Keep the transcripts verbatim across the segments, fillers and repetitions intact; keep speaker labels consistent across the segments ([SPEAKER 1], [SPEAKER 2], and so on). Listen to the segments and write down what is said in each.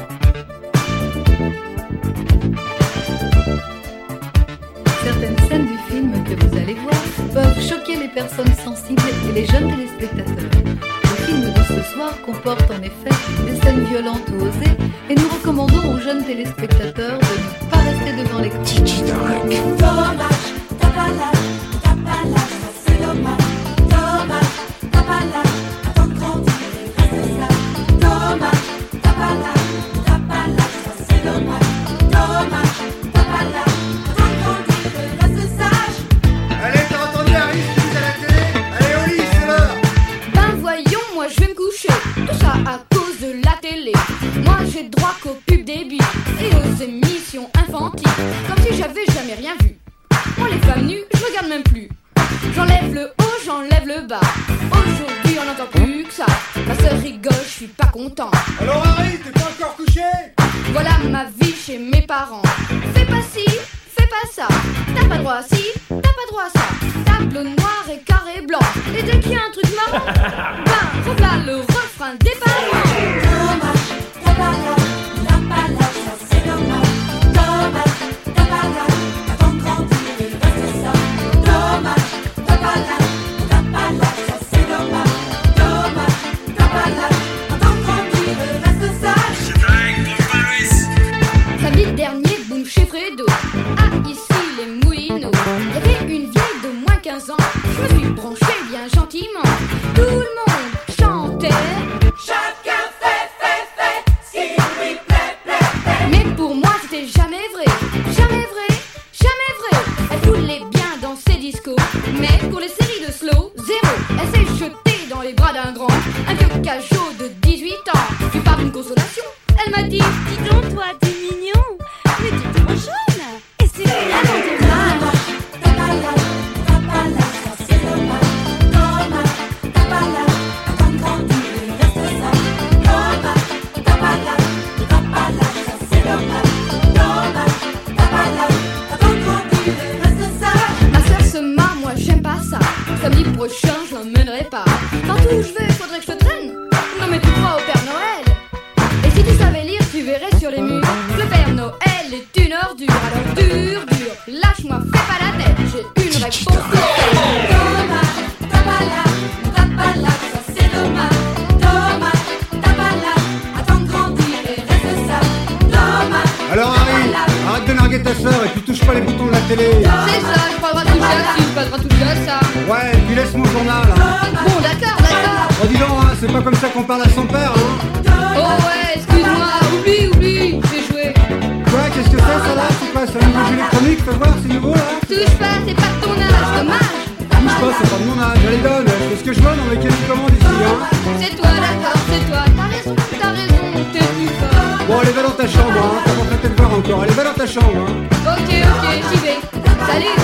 [SPEAKER 1] Certaines scènes du film que vous allez voir peuvent choquer les personnes sensibles et les jeunes téléspectateurs. Le film de ce soir comporte en effet des scènes violentes ou osées et nous recommandons aux jeunes téléspectateurs de ne pas rester devant l'écran.
[SPEAKER 2] Dommage, t'as pas l'âge, t'as pas l'âge, ça c'est dommage. Dommage, t'as pas l'âge, attends de grandir et reste sage. Dommage, t'as pas l'âge, t'as pas l'âge, ça c'est dommage. Dommage, t'as pas l'âge, attends de grandir et reste sage.
[SPEAKER 3] Allez, t'as entendu Harry, je suis à la télé. Allez au lit, c'est l'heure.
[SPEAKER 4] Ben voyons, moi je vais me coucher. Tout ça à cause de la télé. Moi j'ai droit qu'aux pubs débiles et aux émissions infantiles. Comme si j'avais jamais rien vu. Moi les femmes nues, je regarde même plus. J'enlève le haut, j'enlève le bas. Aujourd'hui on n'entend plus que ça. Ma sœur rigole, je suis pas content.
[SPEAKER 3] Alors Harry, t'es pas encore couché?
[SPEAKER 4] Voilà ma vie chez mes parents. Fais pas ci, fais pas ça. T'as pas droit à ci, t'as pas droit à ça. Tableau noir et carré blanc. Et dès qu'il y a un truc marrant, ben revoilà le refrain des parents.
[SPEAKER 2] Dommage, t'as pas l'âge, t'as pas l'âge, ça c'est dommage. Dommage, t'as pas l'âge, attends de grandir et reste sage. Dommage, t'as pas l'âge, t'as pas l'âge, ça c'est dommage. Dommage, t'as pas l'âge, attends de grandir et reste sage.
[SPEAKER 4] Samedi dernier, boum chez Fredo. Ah, ici les Moulineaux. Il y avait une vieille de moins quinze ans. Je me suis branché bien gentiment. Tout le monde chantait.
[SPEAKER 2] Chacun fait, fait, fait, ce qui lui plaît, plaît, plaît.
[SPEAKER 4] Mais pour moi, c'était jamais vrai. Jamais vrai, jamais vrai. Elle voulait bien danser disco. Mais pour les séries de slow, zéro. Elle s'est jetée dans les bras d'un grand. Un vieux cajot de dix-huit ans. Tu parles d'une consolation. Elle m'a dit,
[SPEAKER 5] Dis donc, toi, t'es mignon, mais t'es trop jaune. Et c'est vraiment dommage.
[SPEAKER 2] T'as pas l'âge, t'as pas l'âge, ça c'est dommage. Dommage, t'as pas l'âge, attends de grandir et reste sage. Dommage, t'as pas l'âge, t'as pas l'âge, ça c'est dommage. Dommage, t'as pas l'âge, attends de grandir et reste sage.
[SPEAKER 4] ma sœur se marre, moi j'aime pas ça. Samedi prochain, je l'emmènerai pas. Partout où je vais, faudrait que je te traîne. Non mais tu crois au Père Noël? Et si tu savais lire, tu verrais sur les murs. Le Père Noël est une ordure. Alors dur, dur, lâche-moi, fais pas la tête. J'ai une réponse pour elle.
[SPEAKER 2] Dommage, t'as pas l'âge, t'as pas l'âge, ça c'est dommage. Dommage, t'as pas l'âge, attends de grandir et reste sage. Dommage.
[SPEAKER 3] Alors Harry, arrête de narguer ta sœur et puis touche pas les boutons de la télé.
[SPEAKER 4] C'est ça, je pas le droit de toucher à ci, j'ai pas le droit de toucher à ça.
[SPEAKER 3] Ouais, et puis laisse mon journal. Hein.
[SPEAKER 4] Bon, d'accord, d'accord.
[SPEAKER 3] Oh dis donc, hein, c'est pas comme ça qu'on parle à son père, hein.
[SPEAKER 4] Oh ouais, excuse-moi, oublie, oublie, j'ai joué.
[SPEAKER 3] Quoi, qu'est-ce que c'est ça là? C'est quoi, c'est un nouveau jeu électronique? Fais voir, c'est nouveau là?
[SPEAKER 4] Touche pas, c'est pas de ton âge, dommage.
[SPEAKER 3] Touche pas, c'est pas de mon âge, allez donne, je fais ce que je veux dans les cahiers de commande ici, hein.
[SPEAKER 4] C'est toi, d'accord, c'est toi. T'as raison, t'as raison, t'es plus fort.
[SPEAKER 3] Bon, allez, va dans ta chambre, hein, t'as pas fait de voir encore, allez, va dans ta chambre, hein.
[SPEAKER 4] Ok, ok, j'y vais. Salut.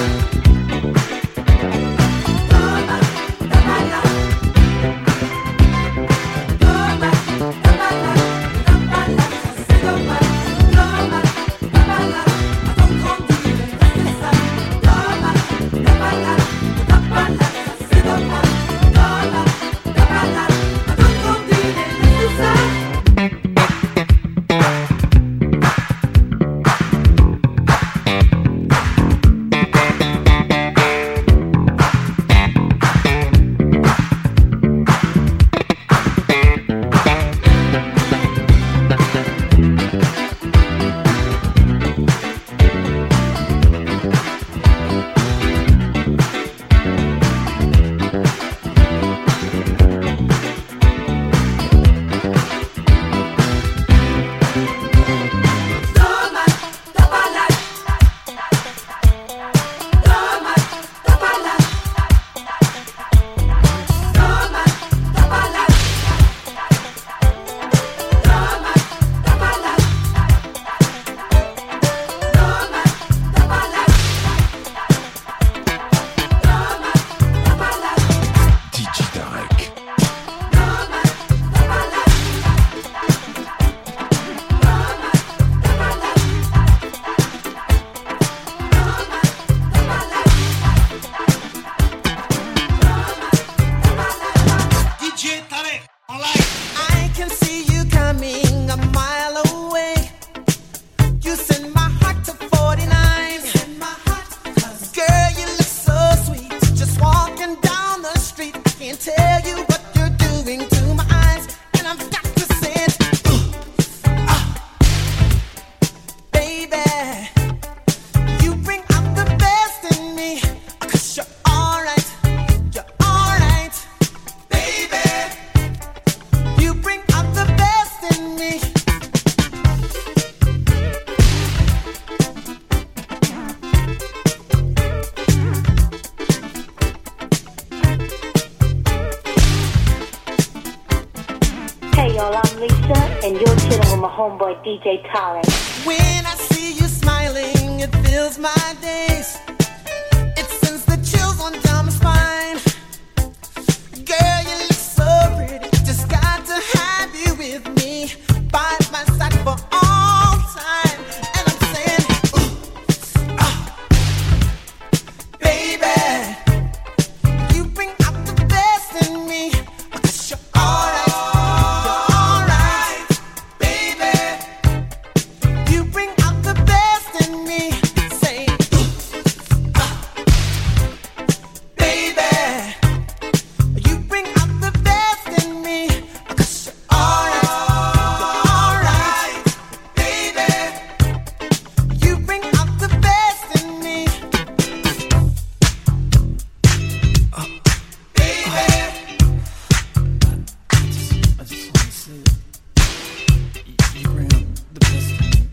[SPEAKER 6] and you're chilling with my homeboy D J Tarek.
[SPEAKER 2] When I see you smiling, it fills my days. It sends the chills on down my spine. Girl, you look so pretty. Just got to have you with me by my side for all time. And I'm saying, ooh, ah, baby, you bring out the best in me. 'Cause you're alright, you're alright, baby. You bring out the best in me. Say, ooh, ah, baby, you bring out the best in me. 'Cause you're alright, you're alright, baby. You bring out the best in me, uh, baby.
[SPEAKER 7] I just want to say it. You bring out the best in me.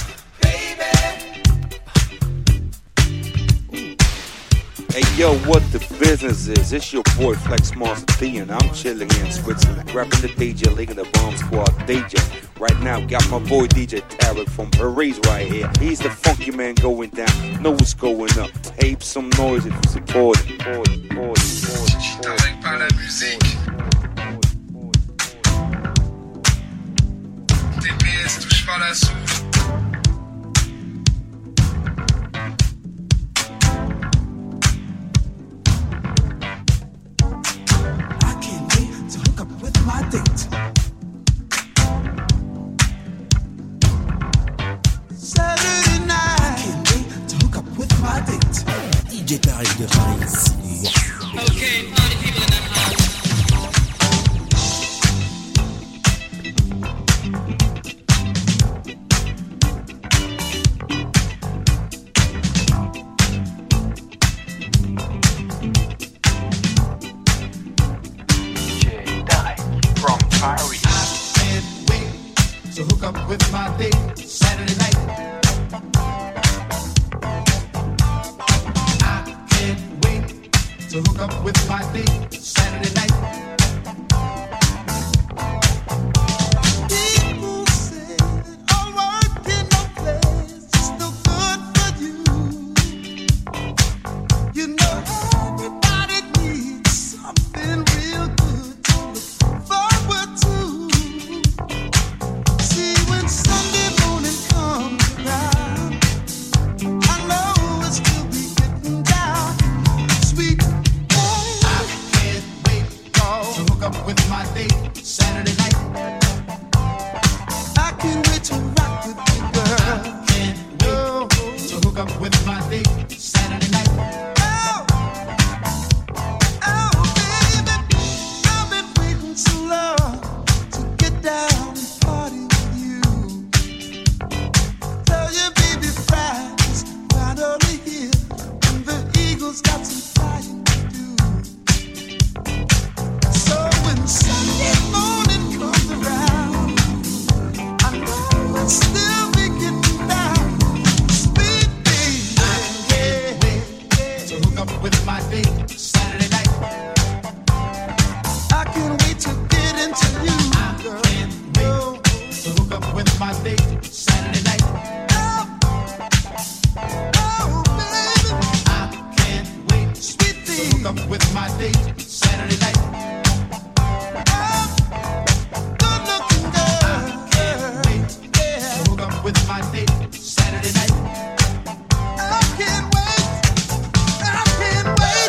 [SPEAKER 8] Hey yo, what the business is? It's your boy Flex Monster D, and I'm chilling here in Switzerland, rapping the D J League and the Bomb Squad D J. Right now, got my boy D J Tarek from Paris right here. He's the funky man going down. Know what's going up. Tape some noise if you support it. Support it, support it, support it, support it.
[SPEAKER 9] Par la musique. T P S touche pas la souffle.
[SPEAKER 2] I can't wait to hook up with my date. Saturday night. I can't wait to hook up with my date.
[SPEAKER 7] D J Tarek de Paris.
[SPEAKER 9] Okay, party people in the house.
[SPEAKER 2] To hook up with my date Saturday night. I can't wait to hook up with my date Saturday night. People say that all work in no place is no good for you. You know everybody needs something real good to look forward to. See, when Sunday morning comes around, I know we'll still be getting down. Sweet, I can't wait to hook up with my date Saturday night. I can't wait to rock with you, girl. I can't wait to hook up with my date Saturday night. Oh, oh, baby, I've been waiting so long to get down and party with you. Tell your baby Friday's finally here, and the Eagles got some flying to do. So when Sunday morning comes around, I know we'll still be getting down. Sweet baby, I can't wait to hook up with my date Saturday night. I can't wait to get into you, girl. I can't wait to hook up with my date Saturday night. Oh, oh, baby, I can't wait, sweet thing, to hook up with my date Saturday night. Oh, good looking girl. I can't wait to hook up with my date Saturday night. I can't wait. I can't wait.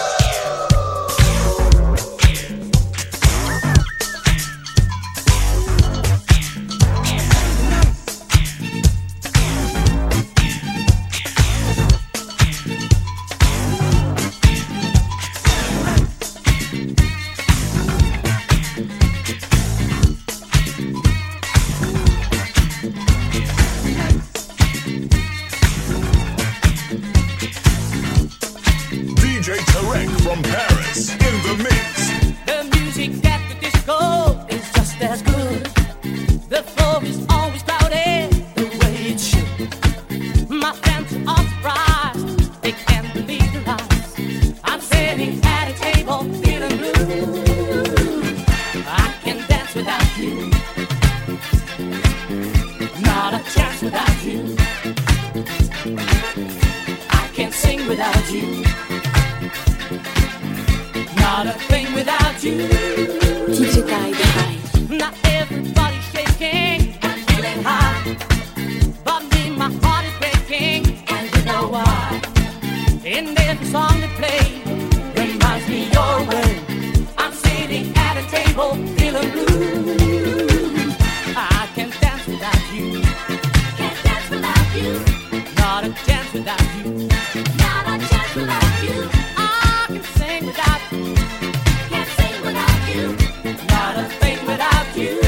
[SPEAKER 2] Not a thing without you.
[SPEAKER 5] D J Tarek High.
[SPEAKER 2] Not everybody's shaking and feeling high, but me, my heart is breaking, and you know why. In every song they play reminds me your way. I'm sitting at a table, feeling blue. I can't dance without you. Can't dance without you. Not a chance without you. Not a chance without you. I can sing without you. Can't sing without you. Not a thing without you.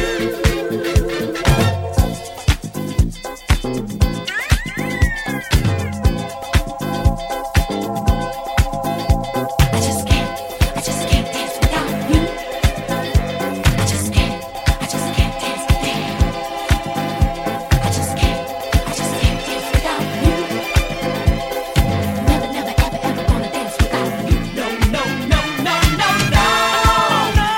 [SPEAKER 2] I just can't, I just can't dance without you. I just can't, I just can't dance with you. I just can't, I just can't dance without you. Never, never, ever, ever gonna dance without you. No, no, no, no, no, no, no.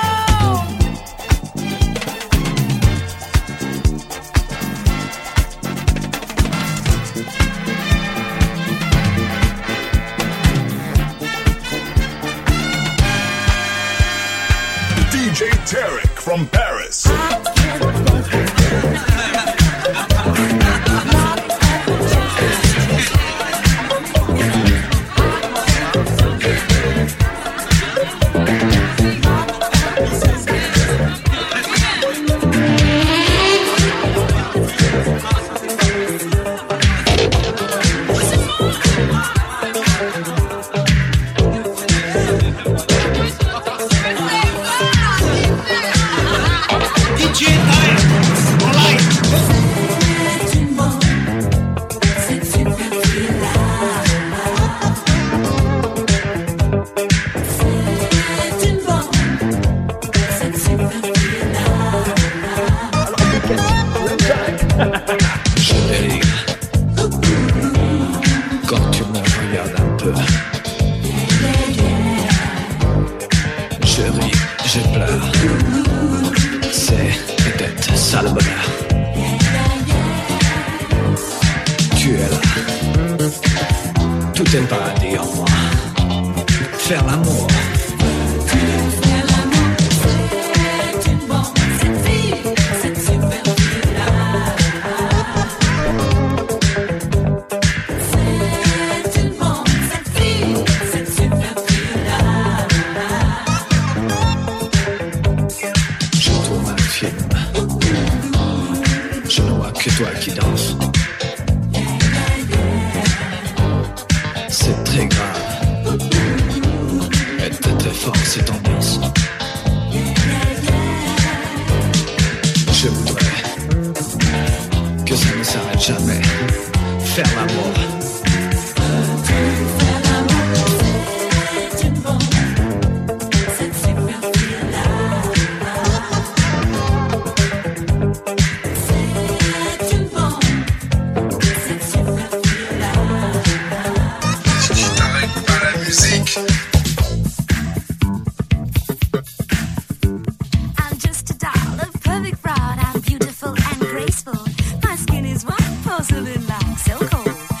[SPEAKER 10] D J Tarek from Paris.
[SPEAKER 7] Chérie, quand tu me regardes un peu, je ris, je pleure. C'est peut-être ça le bonheur. Tu es là, tout est paradis en moi. Faire l'amour. Je tourne un film. Je ne vois que toi qui danses. C'est très grave. Et très très fort cette ambiance. Je voudrais que ça ne s'arrête jamais. Faire l'amour.
[SPEAKER 5] I'm just a doll, a perfect fraud. I'm beautiful and graceful. My skin is white porcelain like so cold.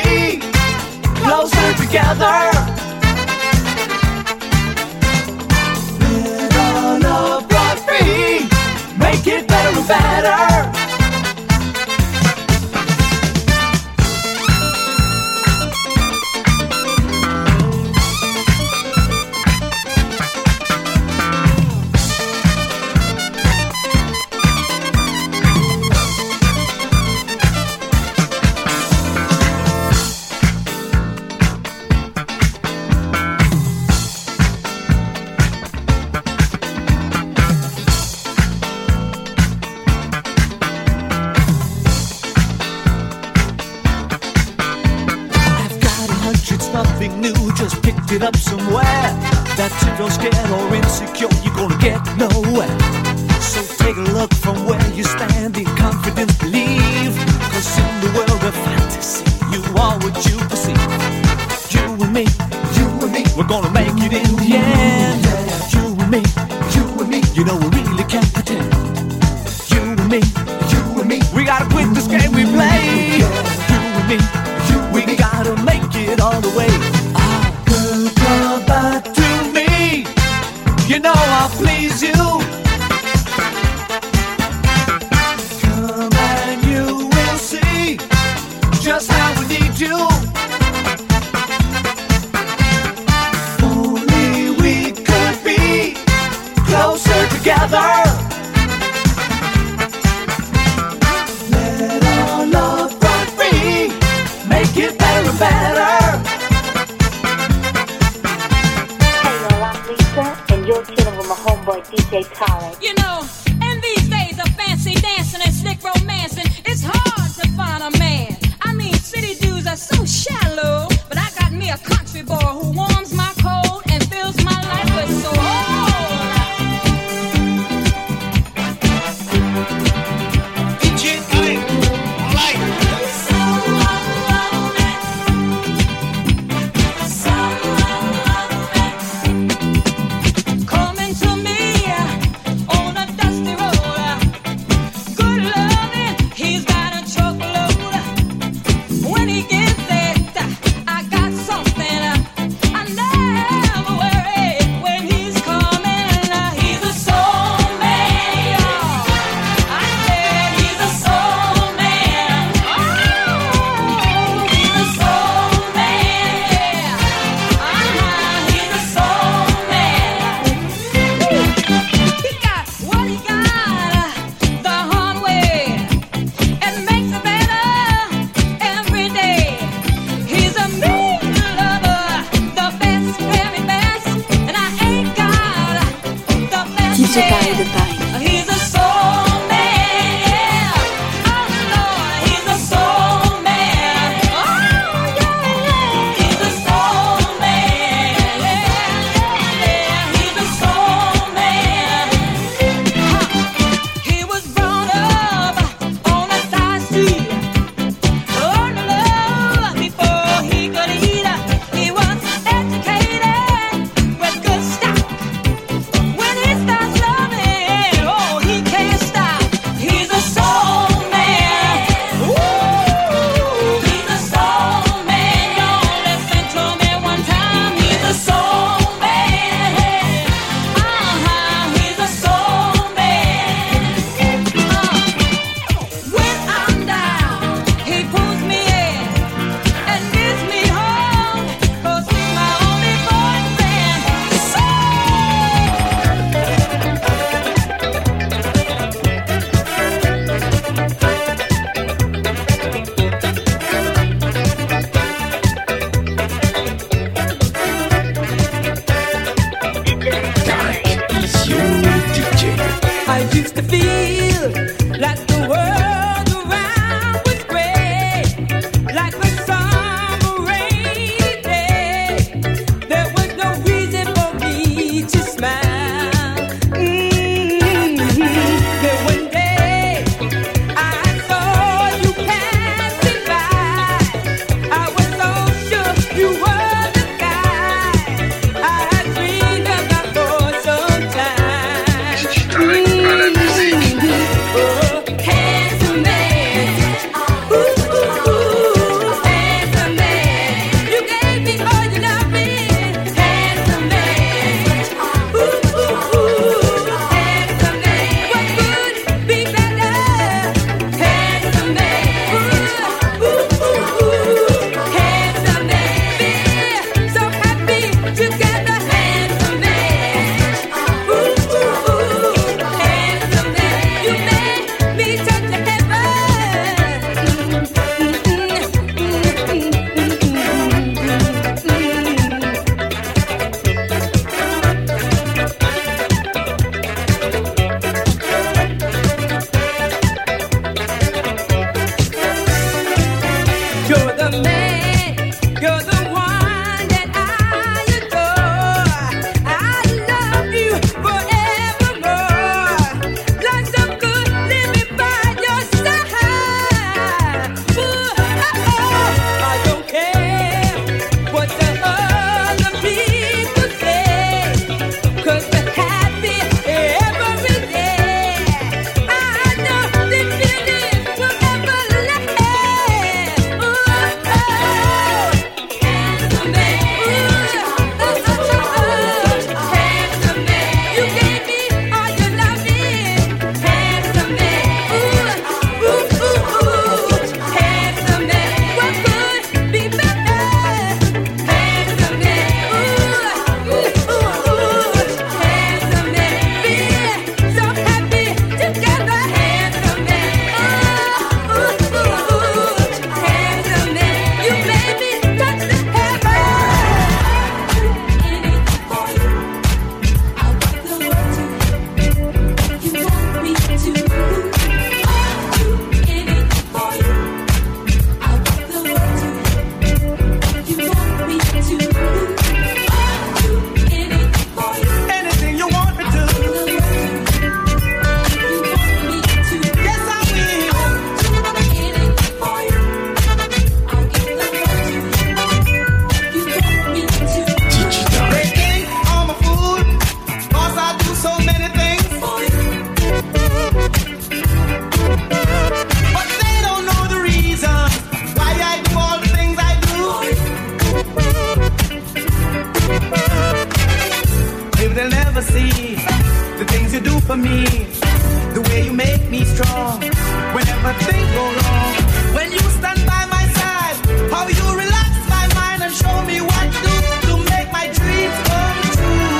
[SPEAKER 11] together. Let our love run free, make it better and better. It up somewhere. That's if you're scared or insecure, you're gonna get nowhere. So take a look from where you stand in confidence, believe. Cause in the world of fantasy, you are what you perceive. You and me, you and me, we're gonna make it in the end. Yeah, you and me, you and me, you know we really can't pretend. You and me, you and me, we gotta quit this game we play. You and me, you and we me, gotta make it all the way. Come back to me, you know I'll please you. Come and you will see just how we need you. Only we could be closer together. Let our love run free, make it better and better.
[SPEAKER 6] And you're chilling with my homeboy D J Talent.
[SPEAKER 12] You know, in these days of fancy dancing and slick romancing, it's hard to find a man. I mean, city dudes are so shallow, but I got me a country boy who warms my cold and fills my life with soul. D J Talent, like
[SPEAKER 2] When he starts loving
[SPEAKER 13] for me. The way you make me strong whenever things go wrong. When you stand by my side, how you relax my mind and show me what to do to make my dreams come true.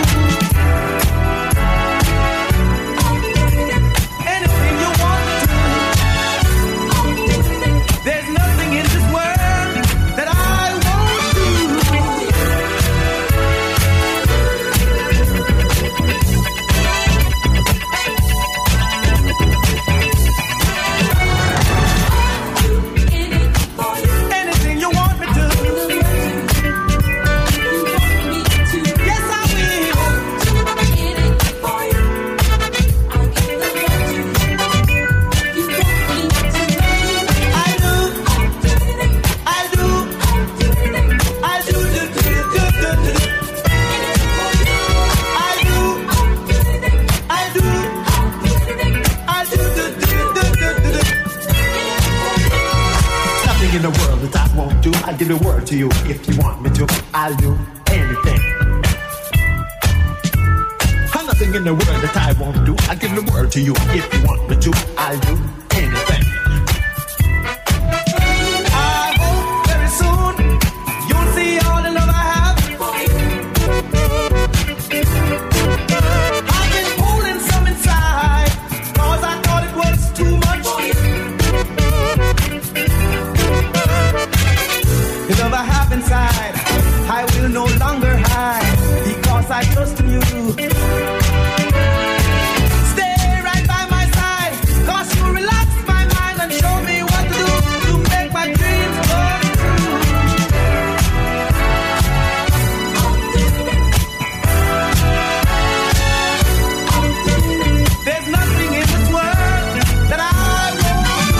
[SPEAKER 13] Anything you want to do. There's nothing in this world that I won't do. Anything you want me to. Yes, I will. I do. I do. I do. do, do, do, do, do. I do. I do. I do. do, do, do, do, do.
[SPEAKER 14] Nothing in the world that I won't do. I'll give the word to you if you want me to. I'll do anything. I'll nothing in the world that I won't do. I'll give the word to you if you want me to. I'll do anything.
[SPEAKER 13] I hope very soon you'll see all the love I have. I've been holding some inside, cause I thought it was too much. The love I have inside, I will no longer hide, because I trust in you. Stay right by my side, cause you relax my mind and show me what to do to make my dreams come true. There's nothing in this world that I won't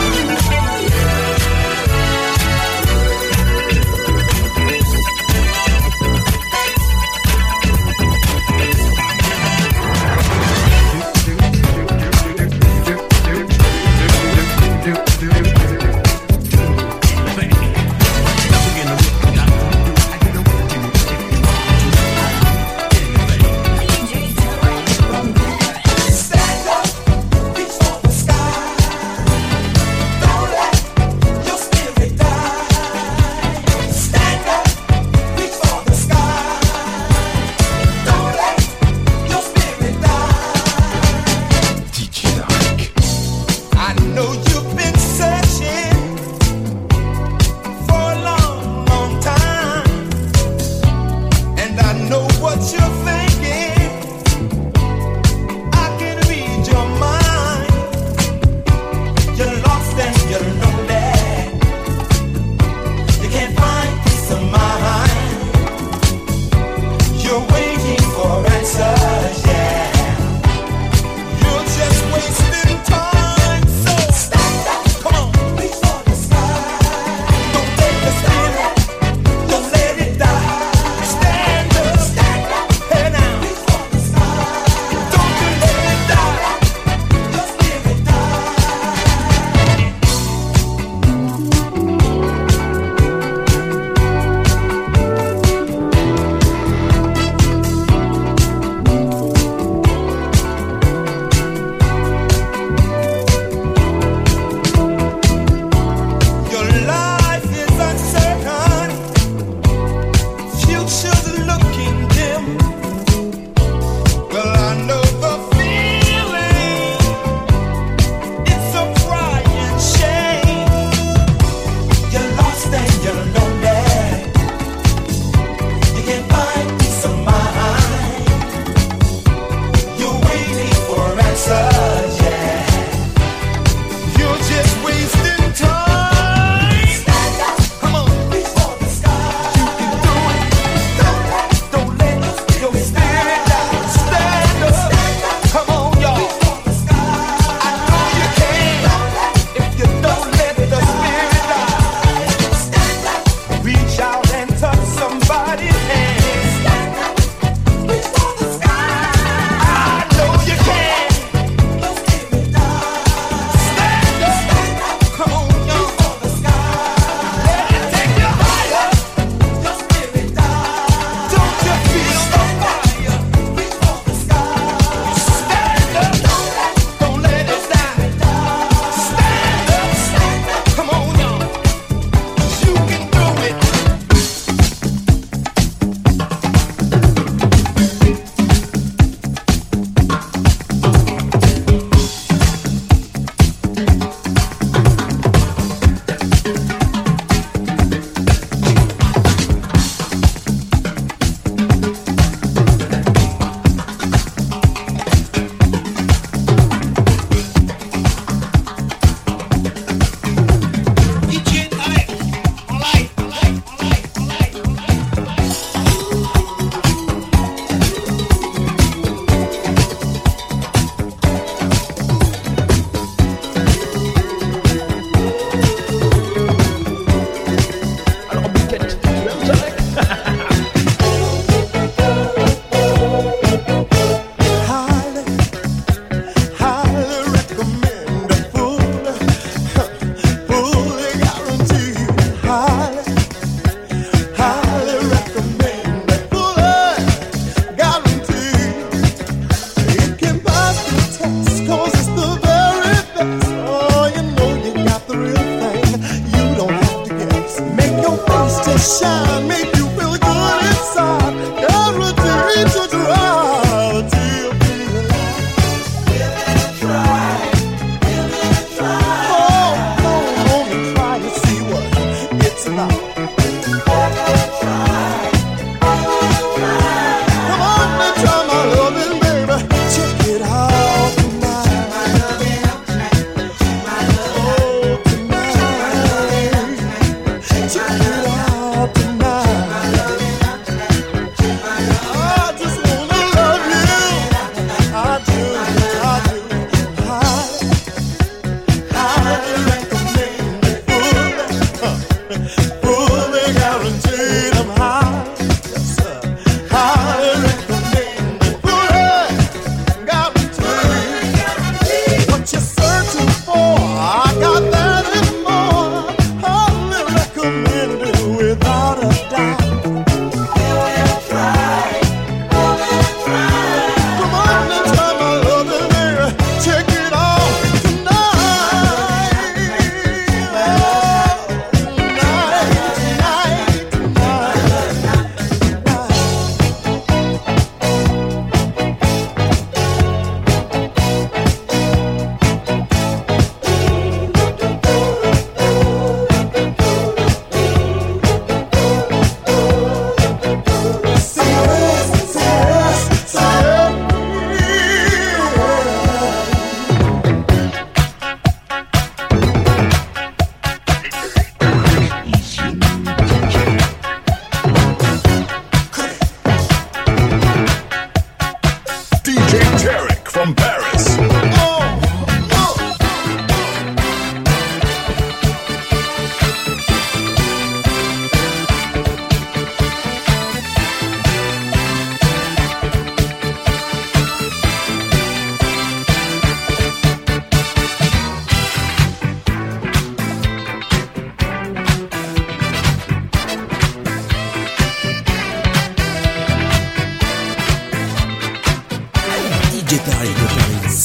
[SPEAKER 11] D J Tarek de Paris.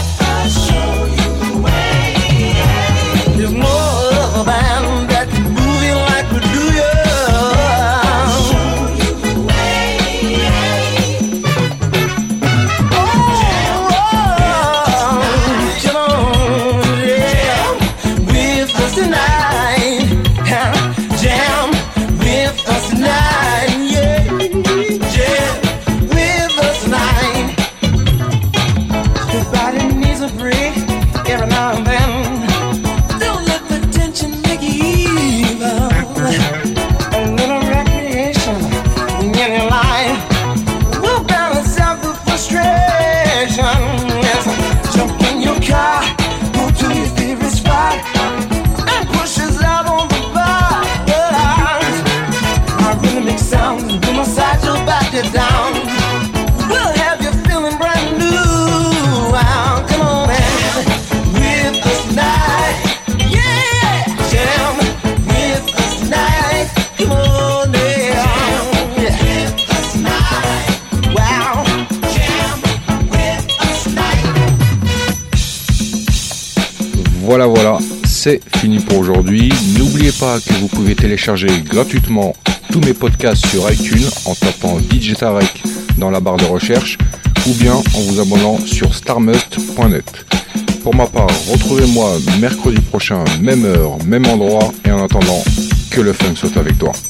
[SPEAKER 11] There's no other band that can move
[SPEAKER 13] tonight. Jam with us tonight. Yeah, jam with us tonight. Your body needs a break every now and then. Don't let the tension make you evil. A little recreation in your life will balance out the frustration. Yes, jump in your car, go to your favorite spot, and push us out on the bar. Our rhythmic sounds will massage your body down. We'll have you feeling brand new. Wow, come on, man, with us tonight. Yeah, jam with us tonight. Come on, yeah. Jam with us tonight. Wow, jam with us tonight.
[SPEAKER 15] Voilà, voilà, c'est fini pour aujourd'hui. N'oubliez pas que vous pouvez télécharger gratuitement tous mes podcasts sur iTunes en tapant D J Tarek dans la barre de recherche ou bien en vous abonnant sur starmust point net. Pour ma part, retrouvez-moi mercredi prochain, même heure, même endroit, et en attendant, que le funk soit avec toi.